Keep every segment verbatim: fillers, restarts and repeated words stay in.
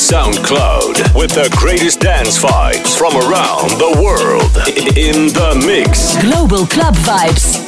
SoundCloud with the greatest dance vibes from around the world in the mix. Global Club Vibes.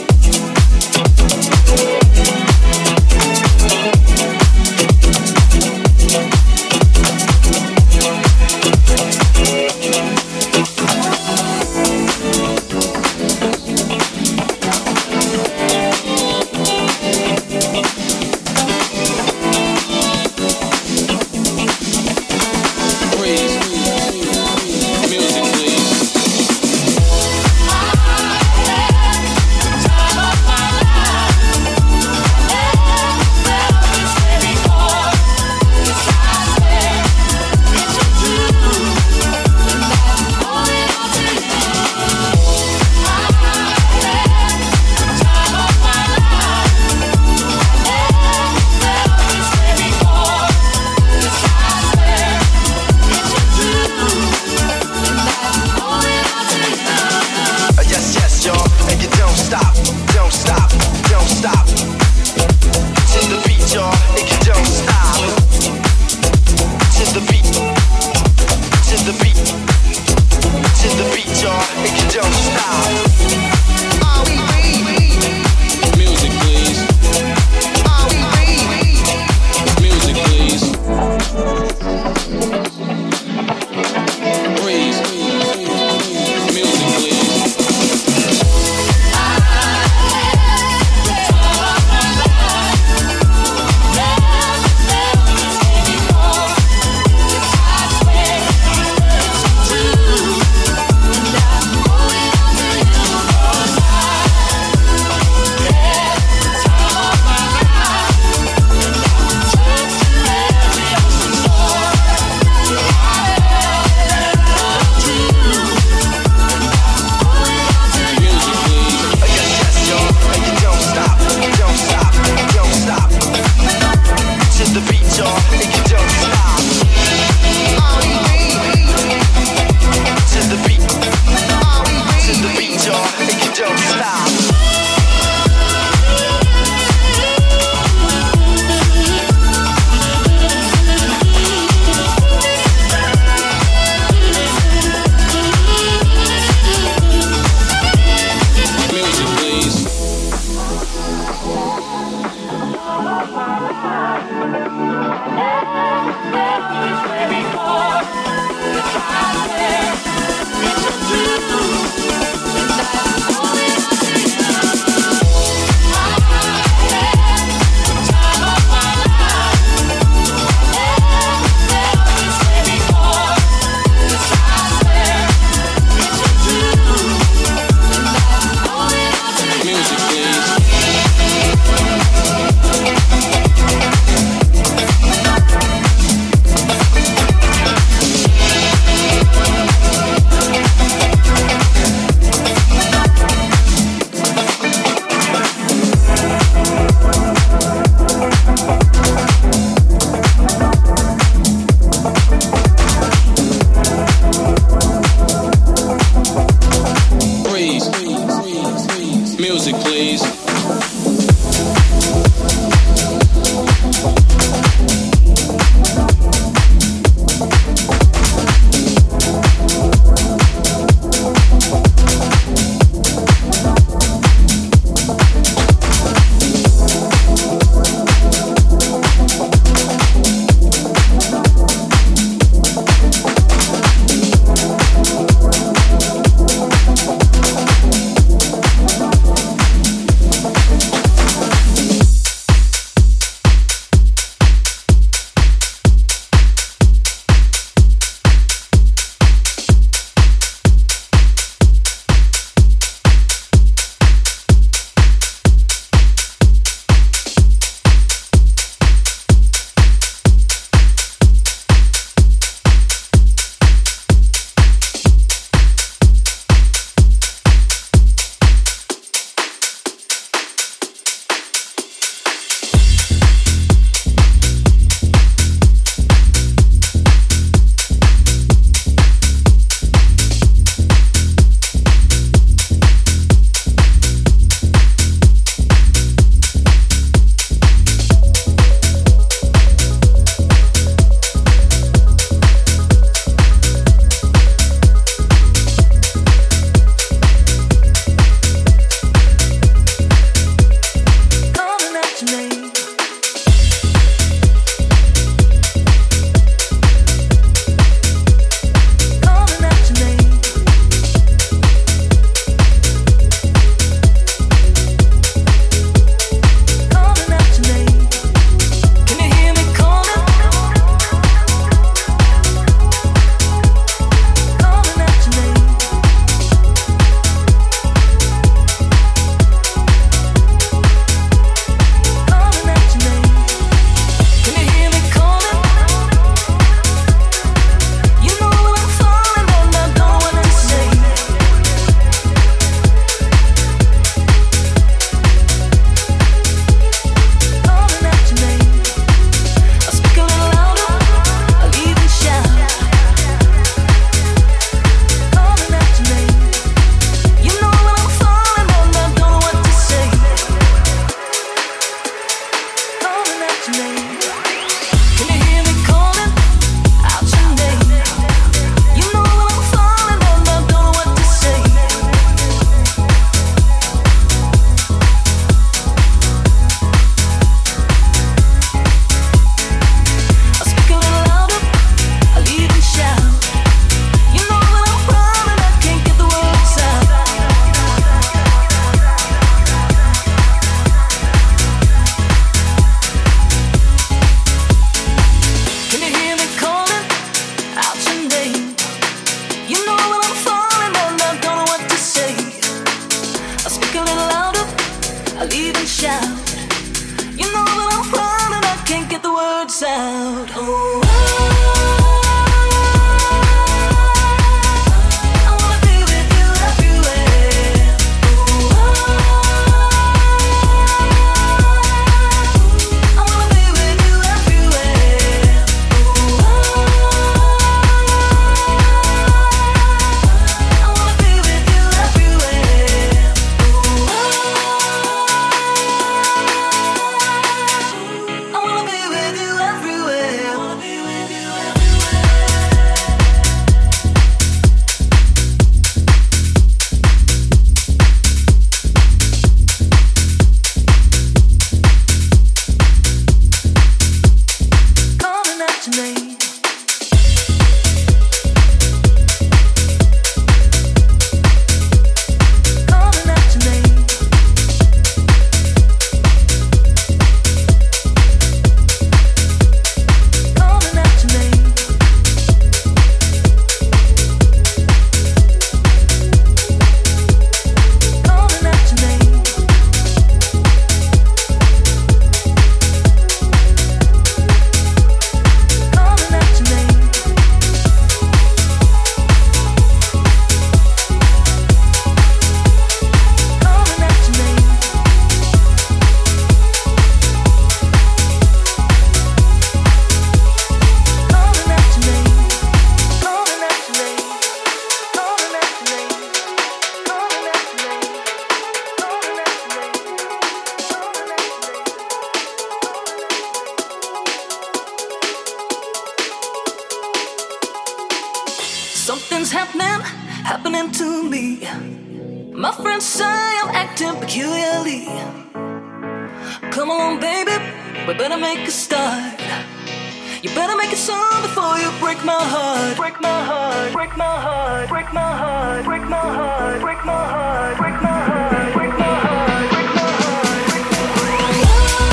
happening to me? My friends say I'm acting peculiarly. Come on, baby, we better make a start. You better make it soon before you break my heart. Break my heart, break my heart, break my heart, break my heart, break my heart, break my heart, break my heart, break my heart, break my heart.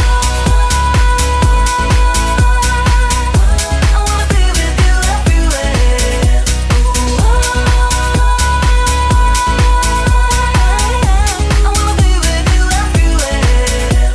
I wanna be with you everywhere. I wanna be with you everywhere.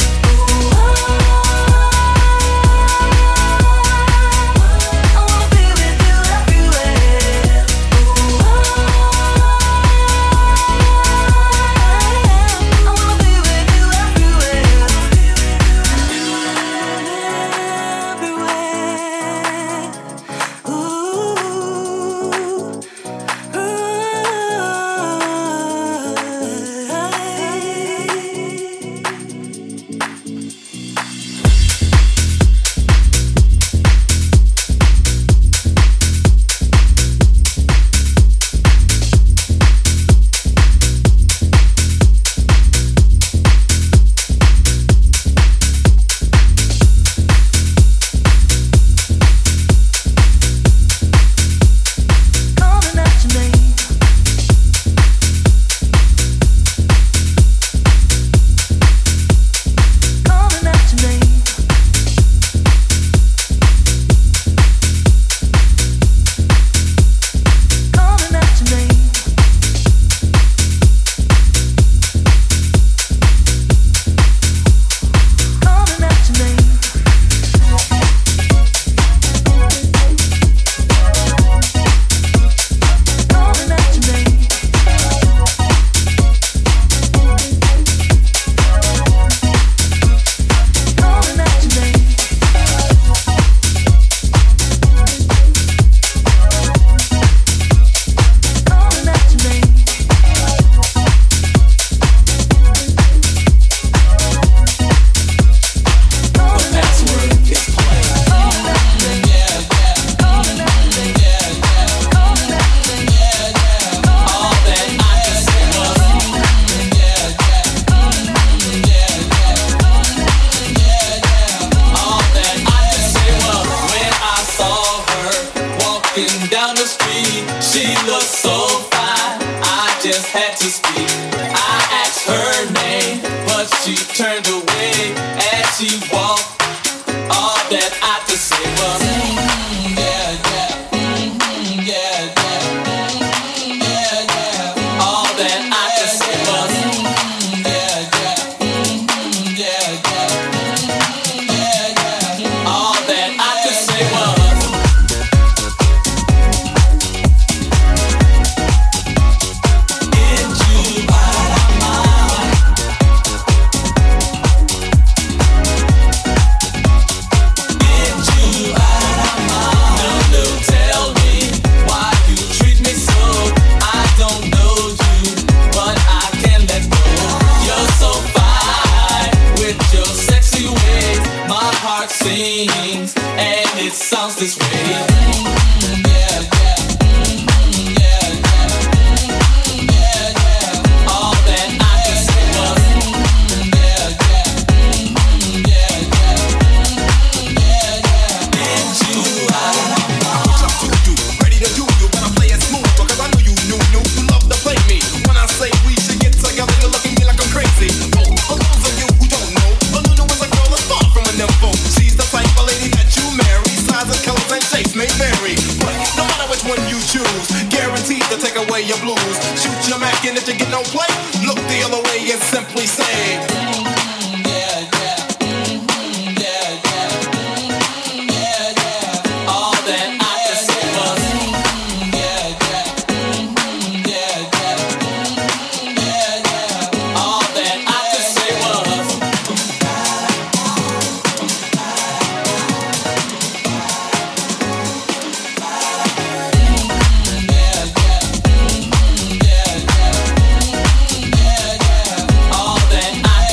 All that I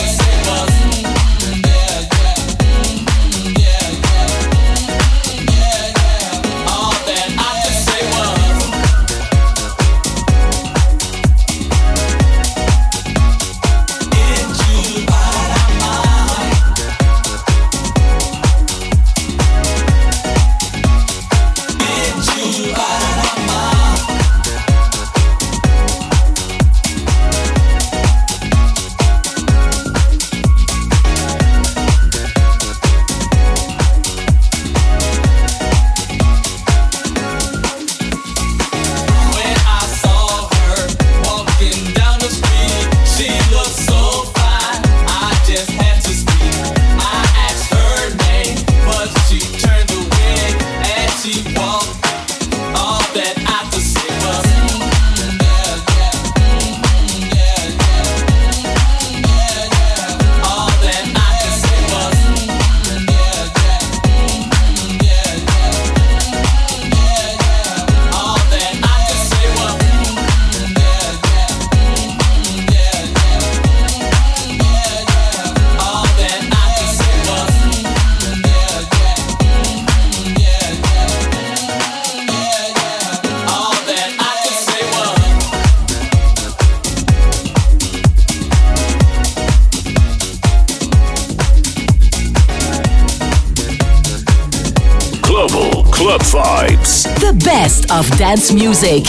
Club Vibes. The best of dance music.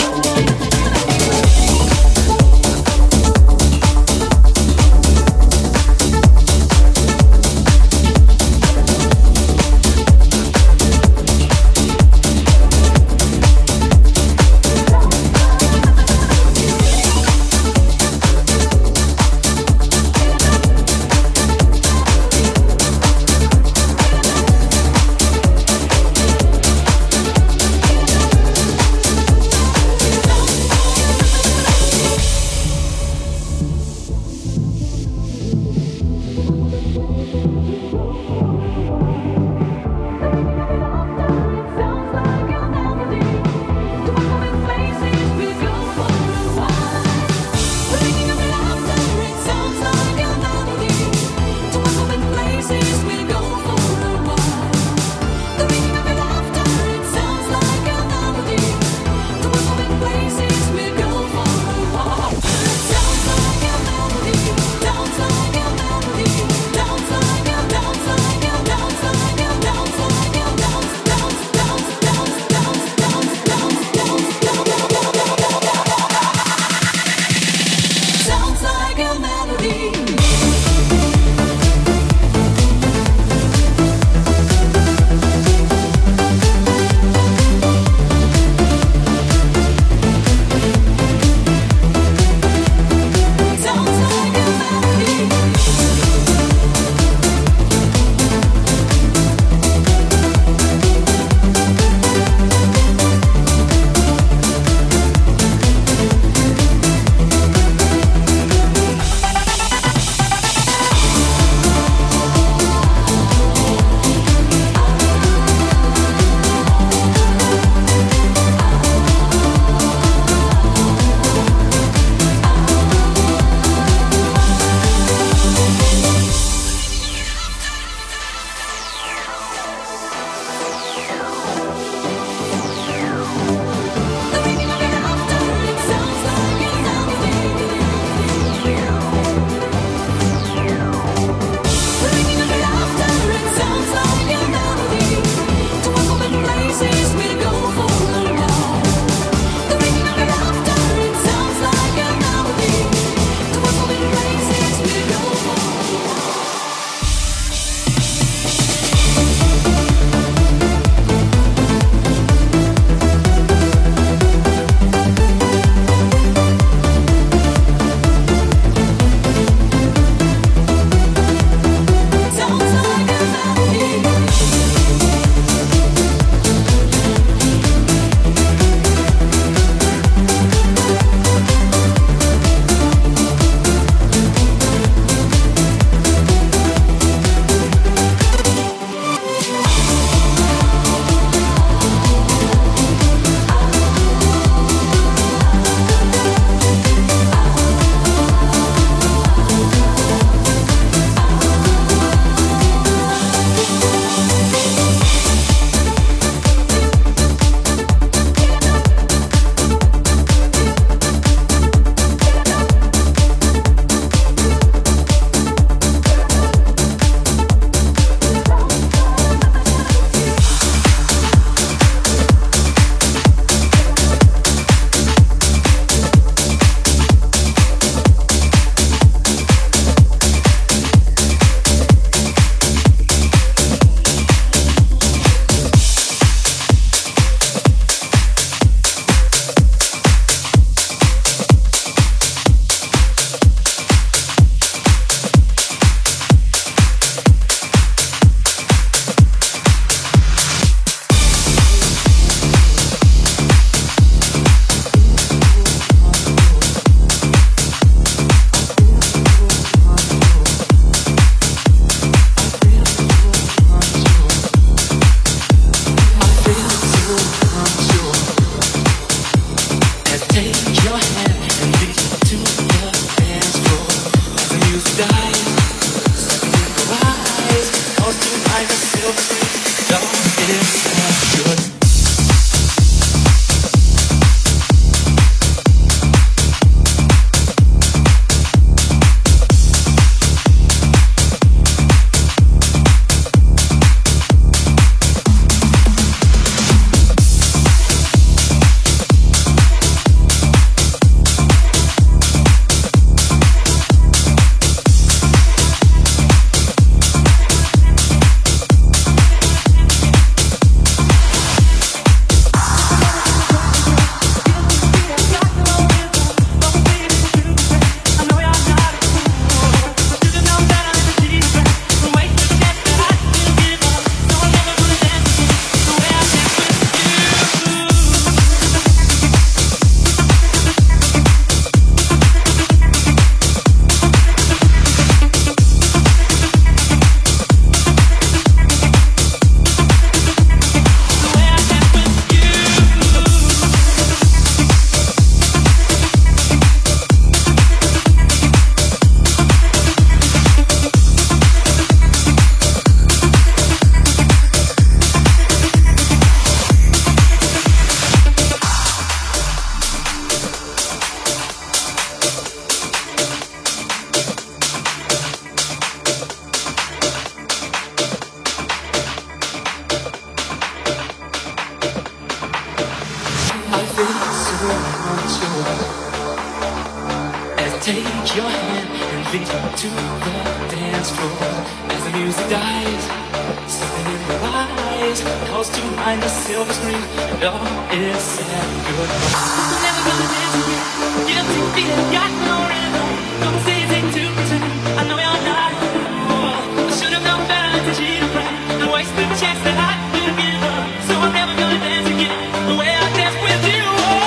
take your hand and lead me to the dance floor. As the music dies, something in your eyes calls to mind the silver screen, and all is said goodbye. I'm never gonna dance again. Guilty feeling, got no rhythm. Don't say it's easy to pretend. I know you're not. Oh, I should have known better to cheat a friend and waste the chance that I could give up. So I'm never gonna dance again the way I dance with you.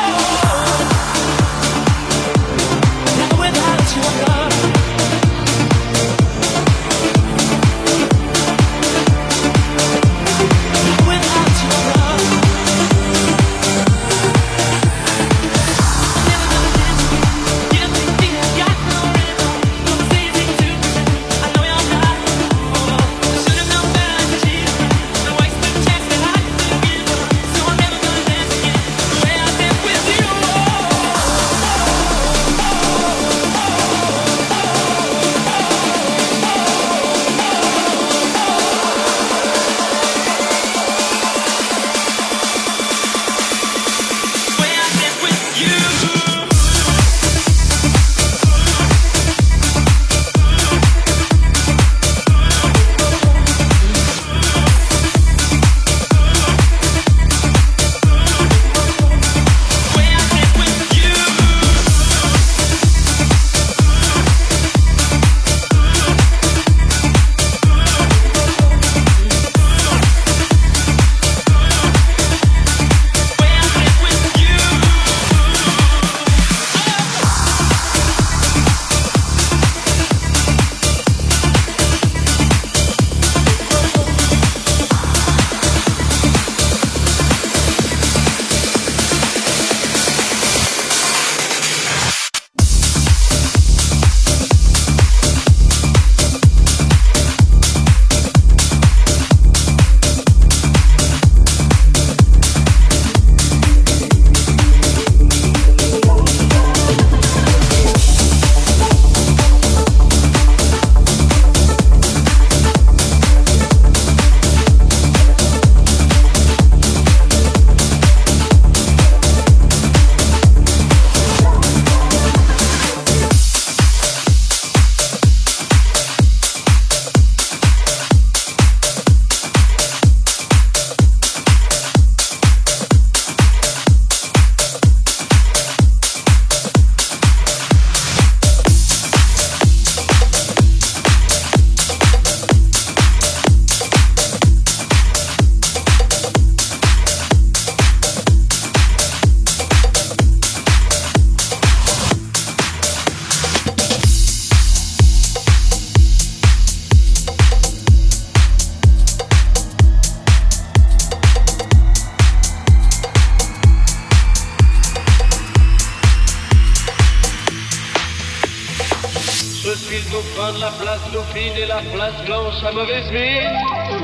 La place Dauphine et la place Blanche à mauvaise mine.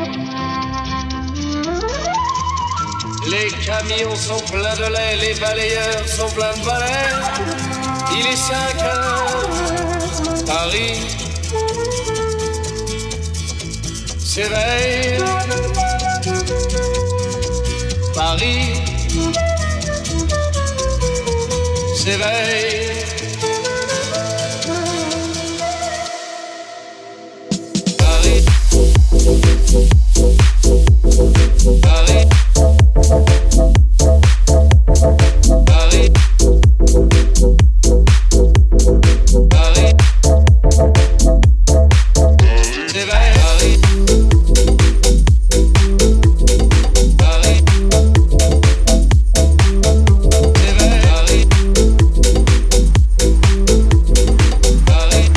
Les camions sont pleins de lait, les balayeurs sont pleins de balais. Il est cinq heures, Paris s'éveille. Paris s'éveille. Paris, Paris, Paris, c'est vrai, Paris, Paris, c'est vrai, Paris, Paris.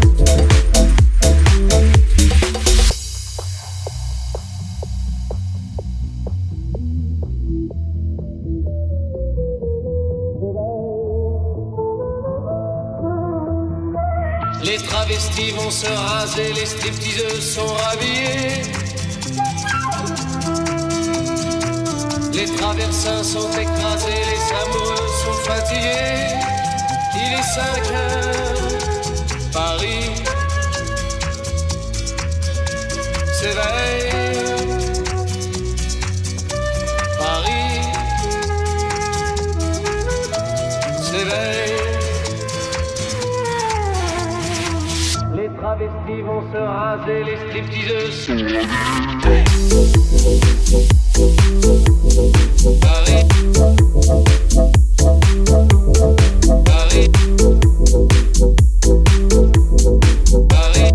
Les travestis vont se raser, les stripteaseuses sont rhabillées. Les traversins sont écrasés, les amoureux sont fatigués. Il est cinq heures, Paris s'éveille. Paris s'éveille. travestis vont se raser, les stripteaseuses. Paris. Paris. Paris.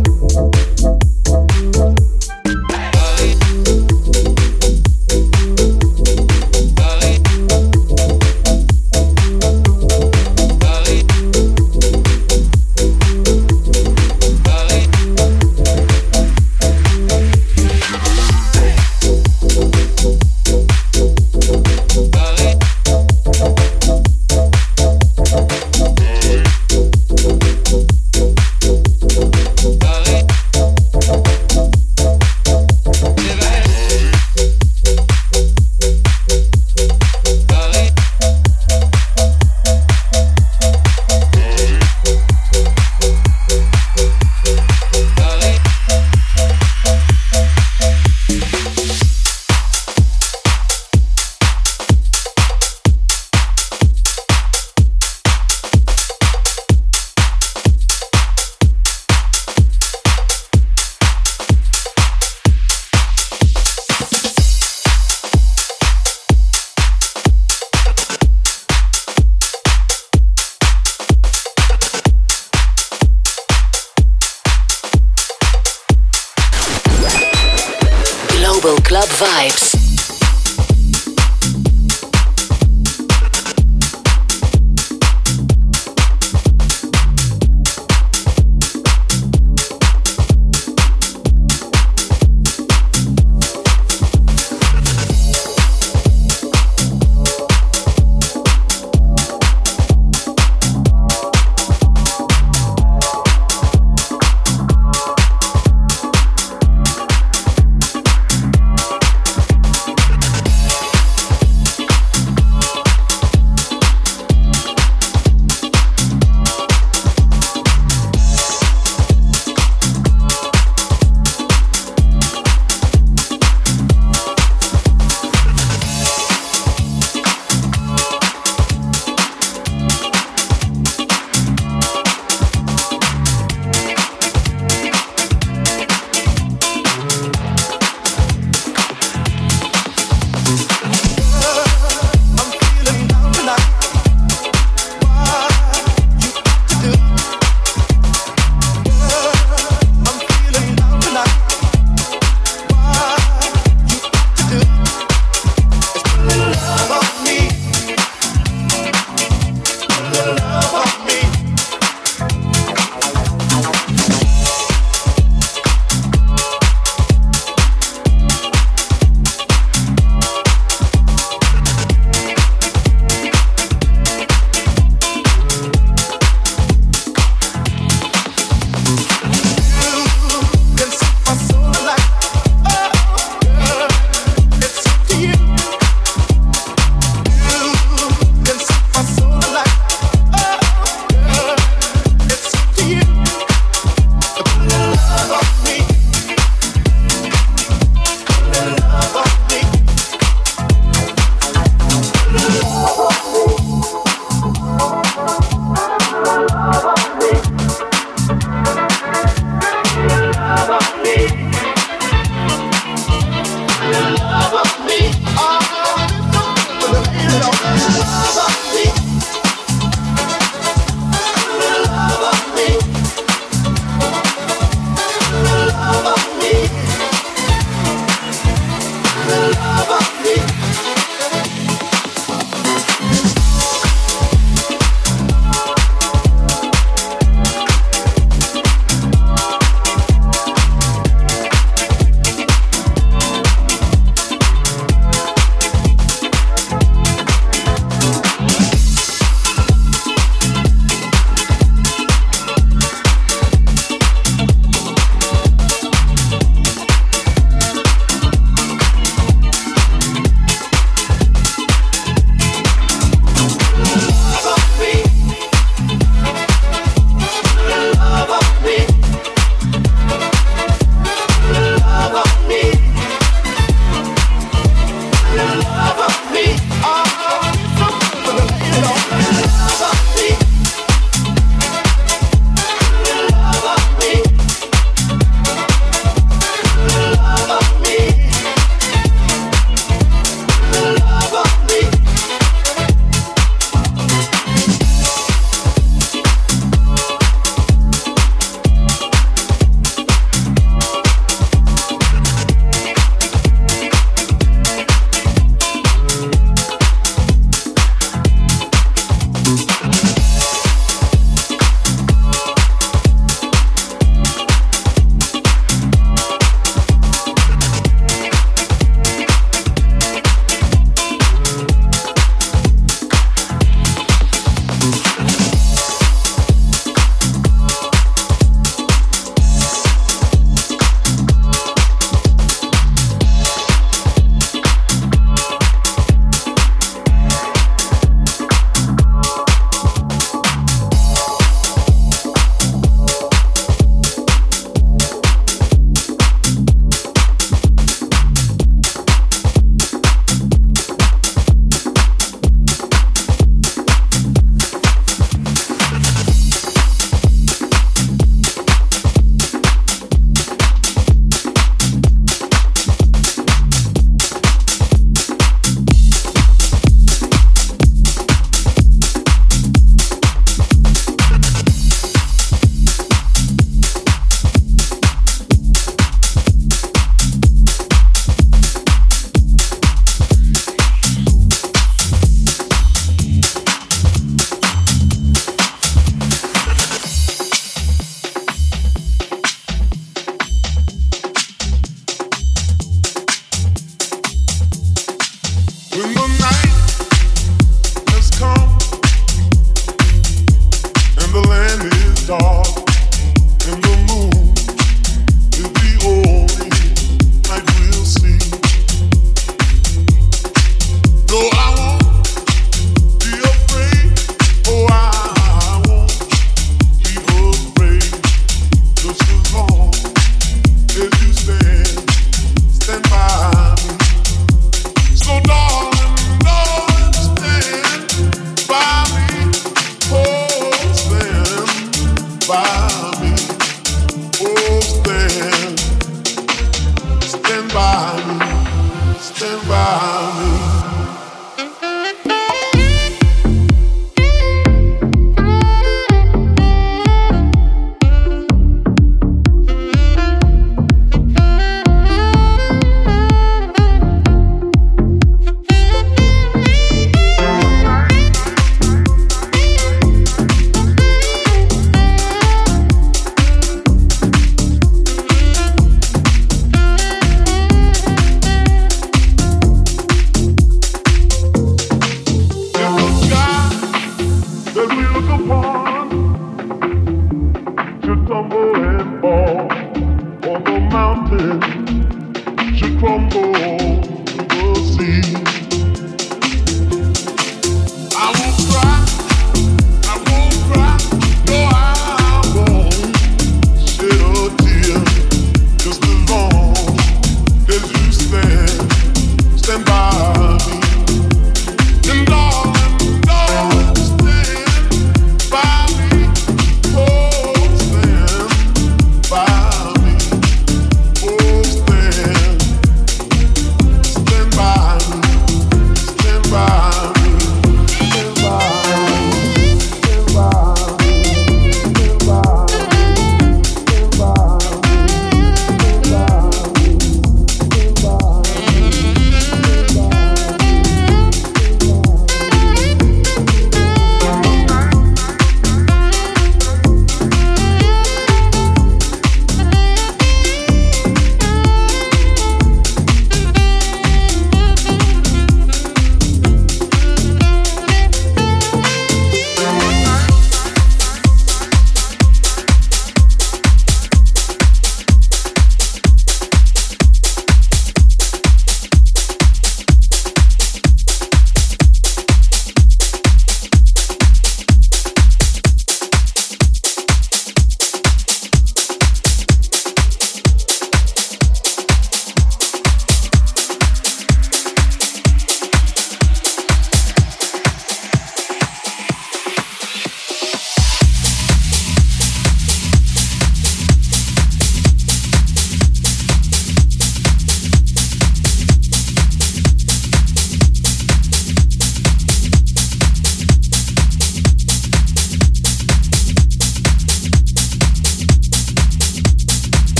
Club Vibes.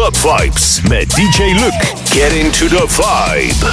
Club Vibes met D J Luke. Get into the vibe.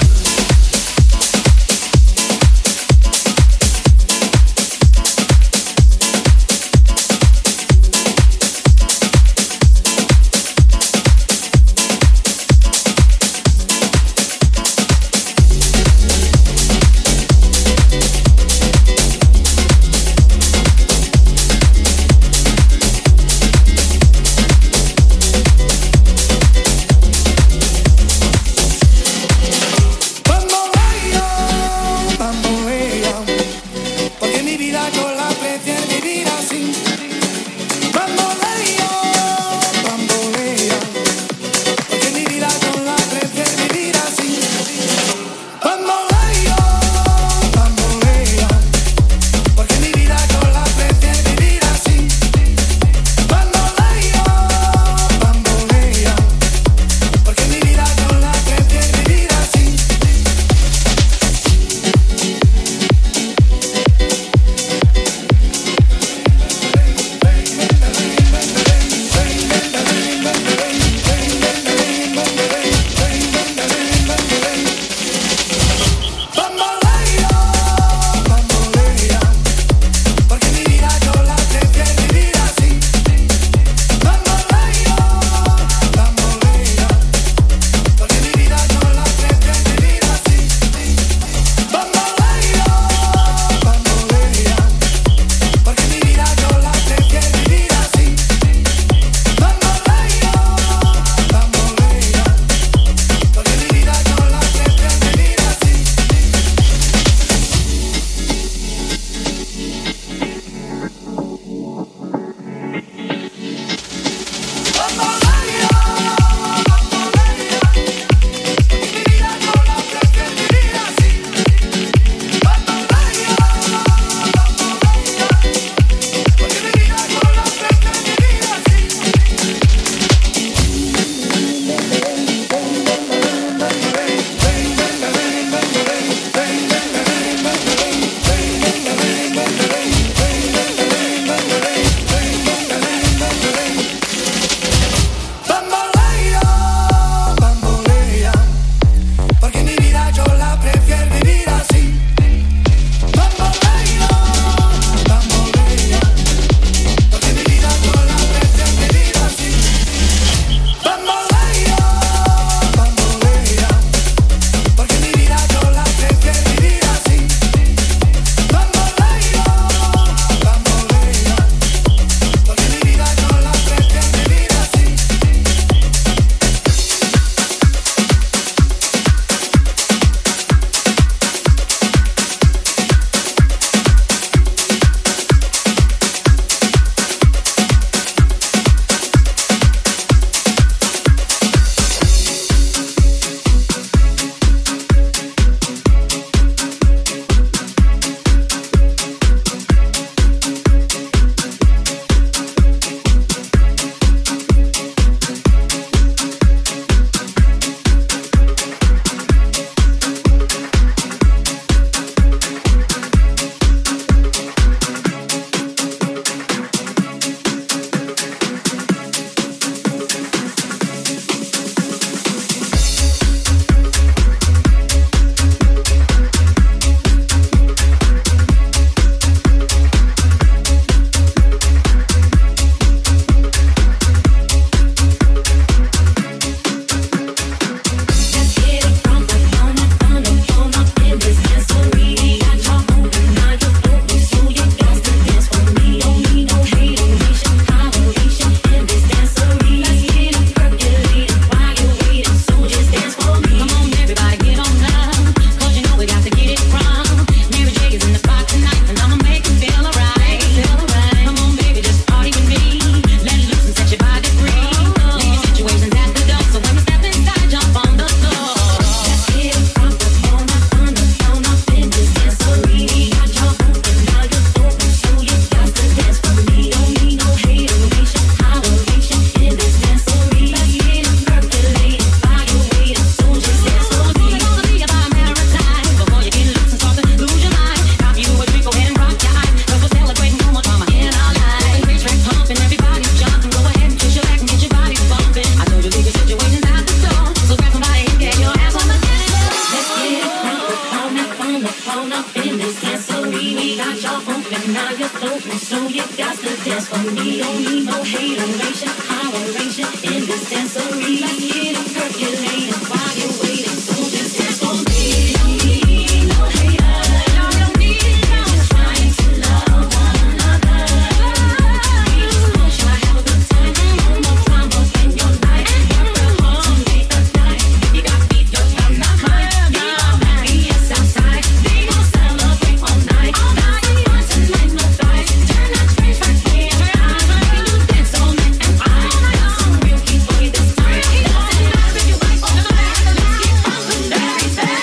got to dance for me. Don't need no hateration, holleration in this dancery. Let's get it percolating while you're waiting. So just dance for me. Don't need no haters. No, don't need no. Just trying to love one another. We just want you to have a good time. No more drama in your life. Work real hard to make the night. You got me, your time, not mine. We all happy and outside. We gon' celebrate all night. All night. Tonight, no fight. Turn that train back here. We do dance all night and I got some real heat for you this time. Doesn't matter if you like or not. Let's get on with everything.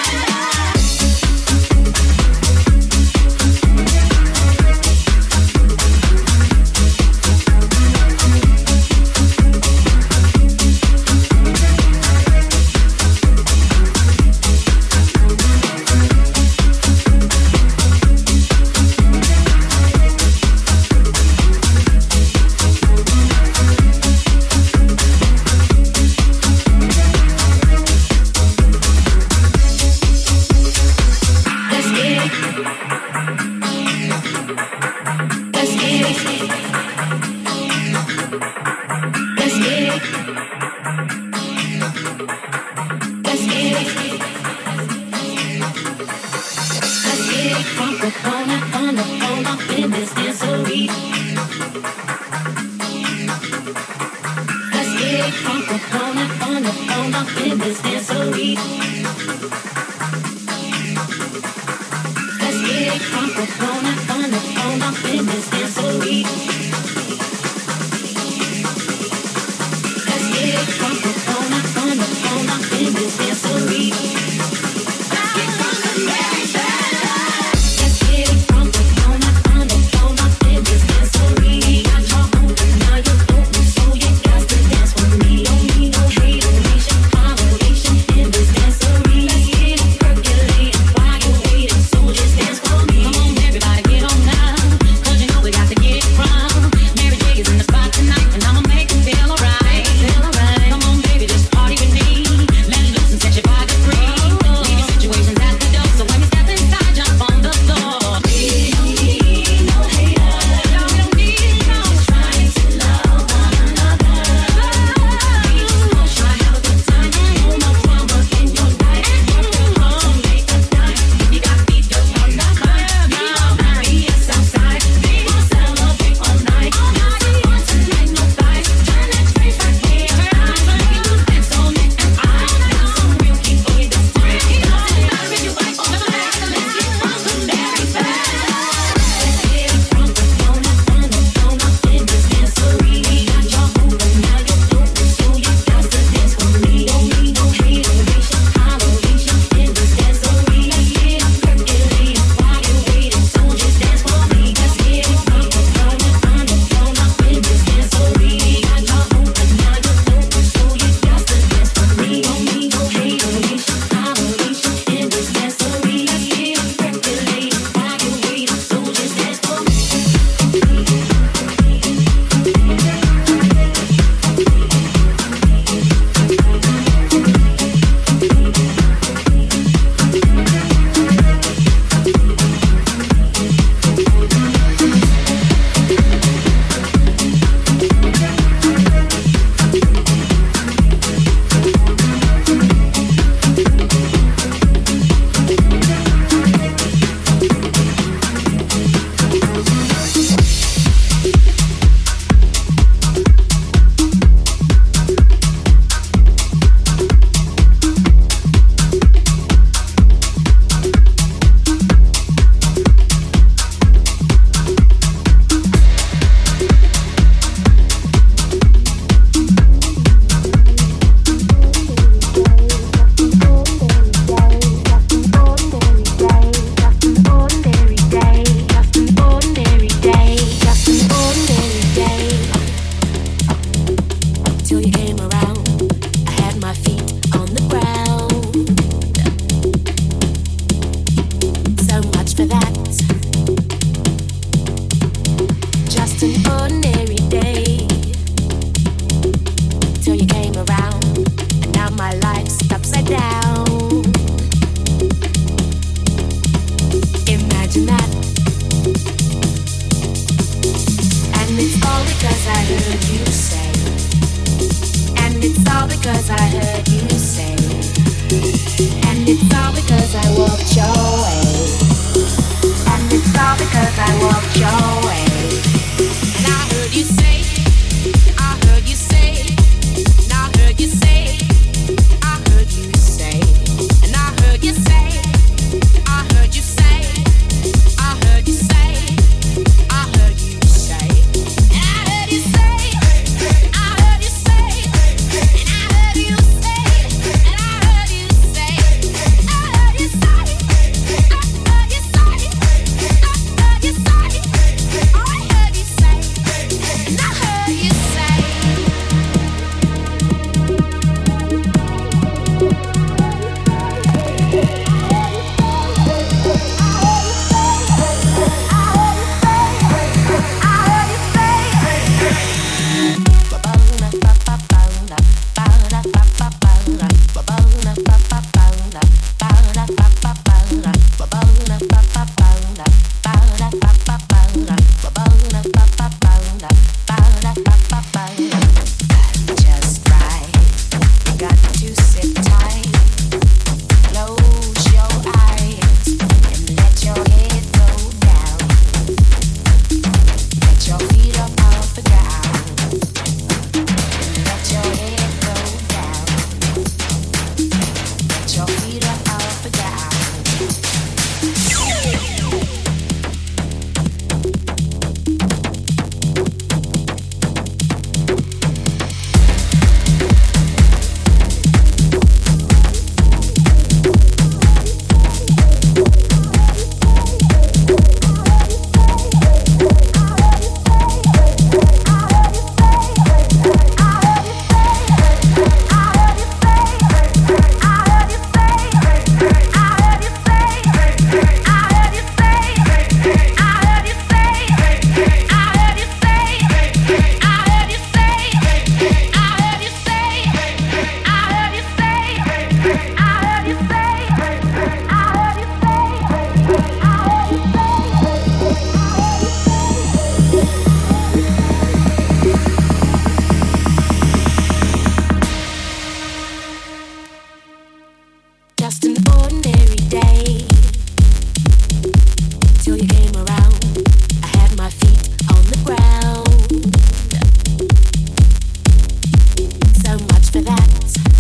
Let's get it. Let's get it. Let's get it. Let's get it. Let's get it from the corner on the phone up in this dancery. Let's get it from the corner on the phone up in this dancery. Let's get it from the corner on the phone up in this dancery. Let's get it from the corner on the phone up in this dancery. Let's get from the very best. Let's get it from the corner on the phone up in this dancery. Got your own and now you're open, so you got to dance with me. Don't need no hateration, holleration in this dancery. Let's get it percolating while you're waiting, so just dance for me. Come on, everybody, get on now, 'cause you know we got to get it from. it's all because I walked your way. And it's all because I walked your way. And I heard you say, I heard you say, and I heard you say, I heard you say, and I heard you say, I heard you say, I heard you say, I heard you say, and I heard you say, I heard you say, and I heard you say, and I heard you say, I heard you say, I heard you say, I heard you say, I heard you say, and I heard you say. Just right, you got to sit tight, close your eyes and let your head go down. Let your feet up off the ground. Let your head go down. Let your feet up off the ground. Just an ordinary day till you came around. I had my feet on the ground. So much for that.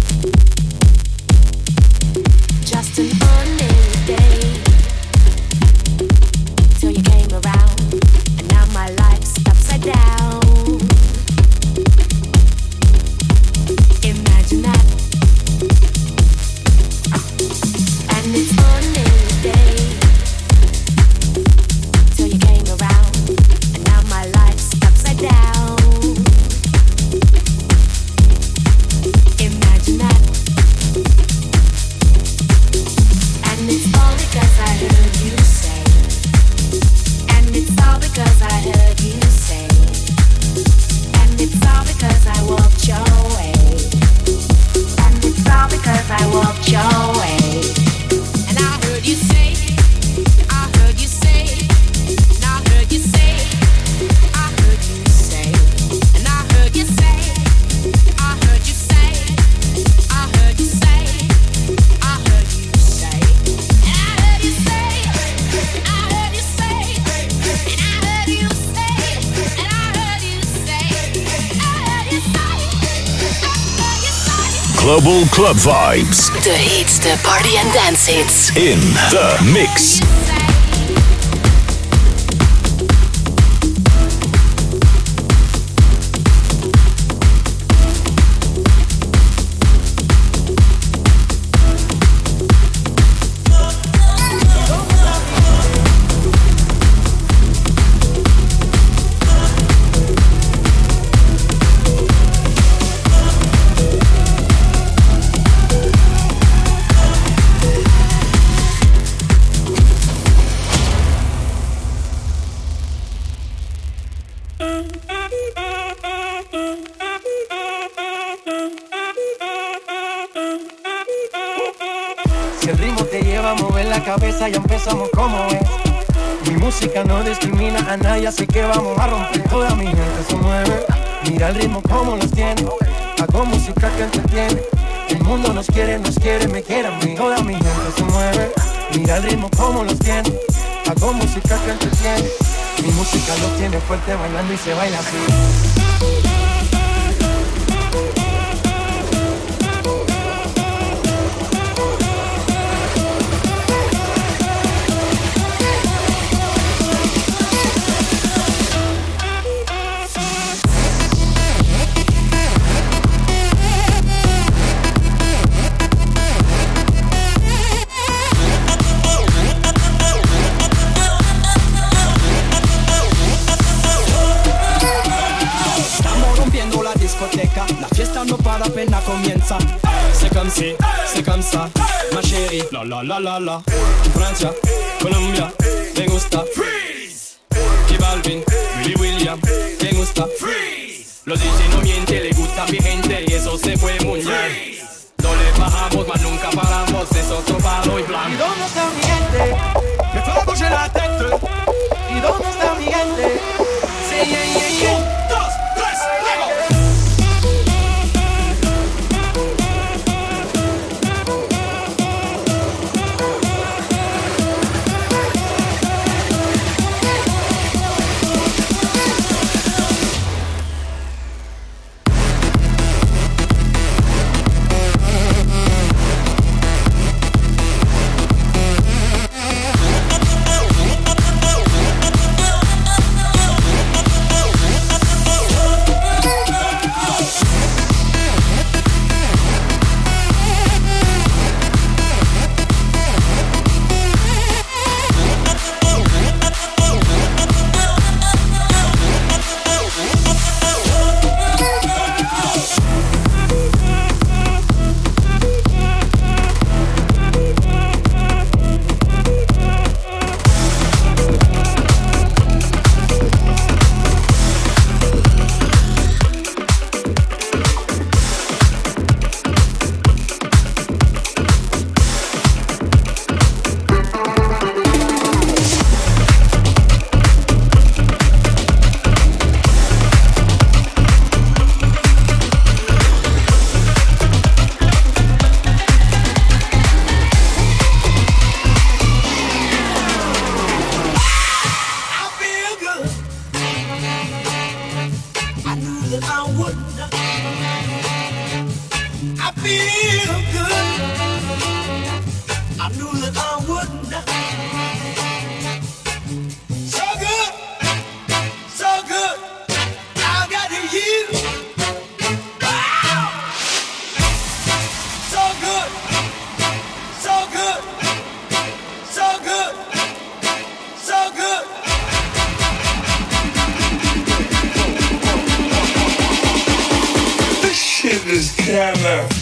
Just an ordinary day till you came around, and now my life's upside down. Imagine that. And it's ordinary day till you came around, and now my life's upside down. Imagine that. And it's all because I heard you say. And it's all because I heard you say. And it's all because I walked your way. And it's all because I walked your way. And I heard you say, I heard you say, and I heard you say, I heard you say, and I heard you say, I heard you say, I heard you say, I heard you say, and I heard you say, I heard you say, and I heard you say, and I heard you say, I heard you say, I heard you say. Global Club Vibes. De hits, de party and dance hits. In the mix. Si el ritmo te lleva a mover la cabeza, ya empezamos como es. Mi música no discrimina a nadie, así que vamos a romper. Toda mi gente se mueve, mira el ritmo como los tiene. Hago música que entretiene, El mundo nos quiere, nos quiere, me quiere a mí. Toda mi gente se mueve, mira el ritmo como los tiene. Hago música que entretiene, mi música lo tiene fuerte bailando y se baila así. La fiesta no para, apenas comienza. C'est comme si, c'est comme ça, ma chérie. La la la la la. Francia, Colombia, me gusta. Freeze. Y Balvin, Willy William, me gusta. Freeze. Los D J no mienten, le gusta mi gente y eso se fue muy bien. No le bajamos, mas nunca paramos, es otro palo y blanco. ¿Y dónde está mi gente? Me fue a bouger la tête. ¿Y dónde está mi gente? Sí, yeah, yeah, yeah. Un, dos, tres, luego. This shit is kinda